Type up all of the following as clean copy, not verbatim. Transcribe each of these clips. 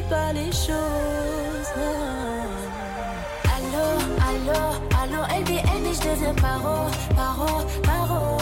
pas les choses. Allô, allô, allô, LBN et je deviens paro, paro, paro.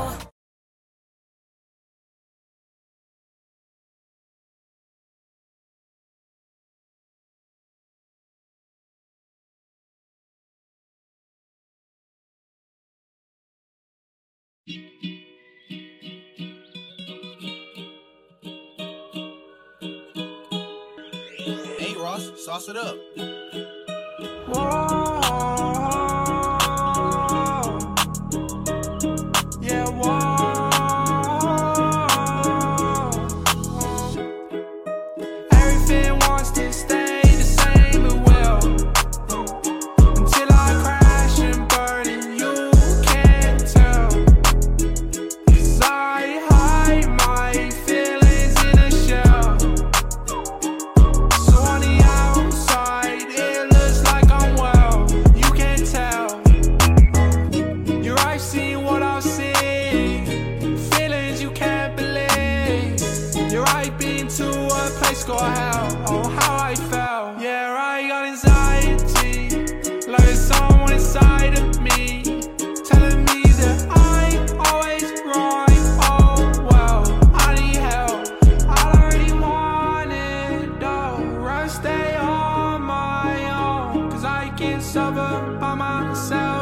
Hey Ross, sauce it up. Whoa. Yeah, whoa. Everything wants to stay the same, it will. Until I crash and burn and you can't tell. 'Cause I hide my feelings in a shell. So on the outside, it looks like I'm well. You can't tell. Your eyes see what I've seen. Feelings you can't believe. You're right been to a place called hell. Oh, how I felt. Yeah, I got anxiety. Like there's someone inside of me telling me that I'm always right. Oh, well, I need help. I don't really want it, though. Rather stay on my own. 'Cause I can't suffer by myself.